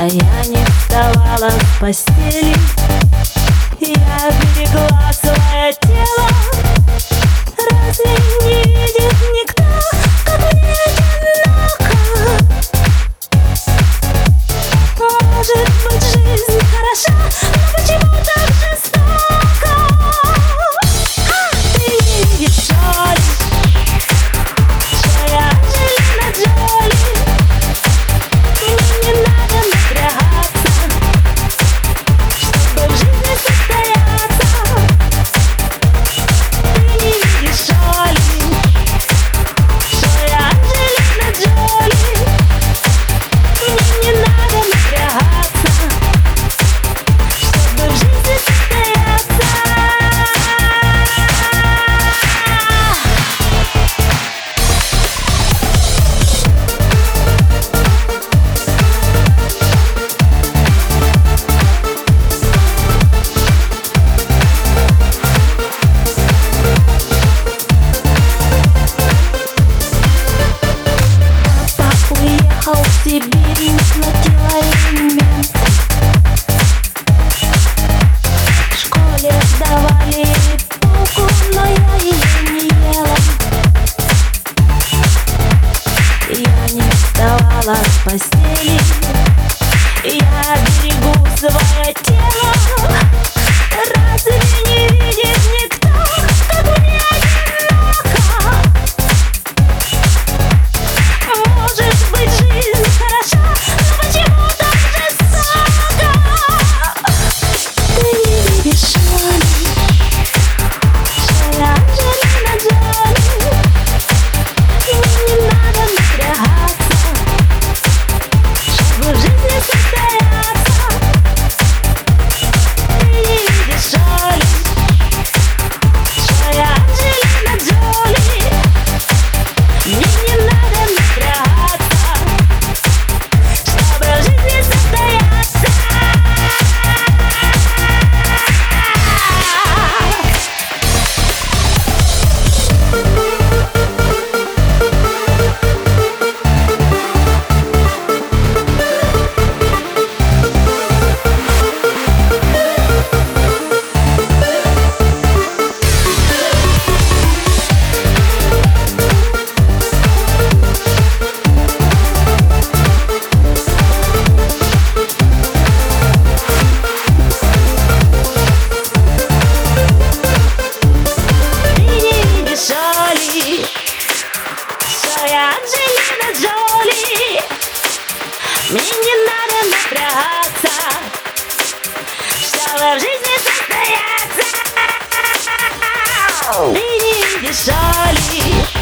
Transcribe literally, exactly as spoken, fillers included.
А я не вставала с постели, я берегла свое тело. Разве не видит никто, как мне одиноко? Может быть, жизнь хороша, но почему так жестоко? Ты не видишь, что ли, что я Анджелина Джоли? Мне не надо напрягаться, чтобы в жизни состояться. Ты не видишь, что ли, что я Анджелина Джоли? Мне не надо напрягаться, чтобы в жизни состояться. Папа уехал в Сибирь, не платил алименты. В школе давали булку, но я ее не ела. Я не вставала с постели, я берегу свое тело. Разве не видит никто, как мне одиноко? Может быть, жизнь хороша, но почему так жестоко? Ты не видишь, что ли, что я Анджелина Джоли? Мне не надо напрягаться, чтобы в жизни состояться. Ты не видишь, что ли, что я Анджелина Джоли? Мне не надо напрягаться, чтобы в жизни состояться. Ты не видишь, что ли, что я Анджелина Джоли? Мне не надо напрягаться, чтобы в жизни состояться. Ты не видишь, что ли,